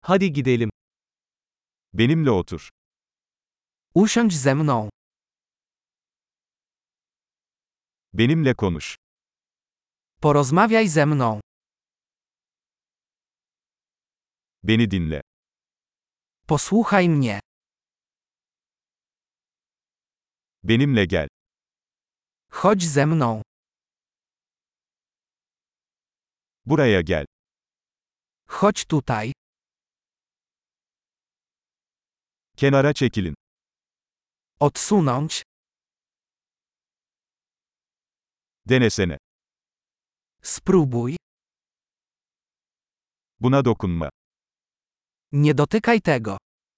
Hadi gidelim. Benimle otur. Usiądź ze mną. Benimle konuş. Porozmawiaj ze mną. Beni dinle. Posłuchaj mnie. Benimle gel. Chodź ze mną. Buraya gel. Chodź tutaj. Kenara çekilin. Odsunąć. Denesene. Spróbuj. Buna dokunma. Nie dotykaj tego.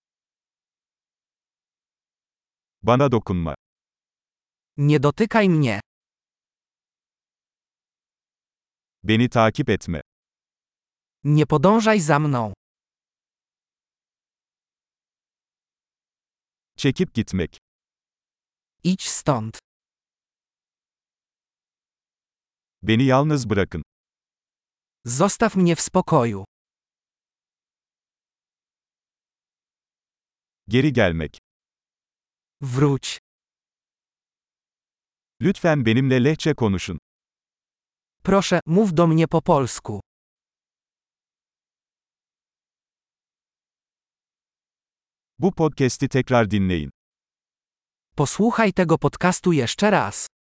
Bana dokunma. Nie dotykaj mnie. Beni takip etme. Nie podążaj za mną. Çekip gitmek. Idź stąd. Beni yalnız bırakın. Zostaw mnie w spokoju. Geri gelmek. Wróć. Lütfen benimle Lehçe konuşun. Proszę, mów do mnie po polsku. Bu podcast'i tekrar dinleyin. Posłuchaj tego podcastu jeszcze raz.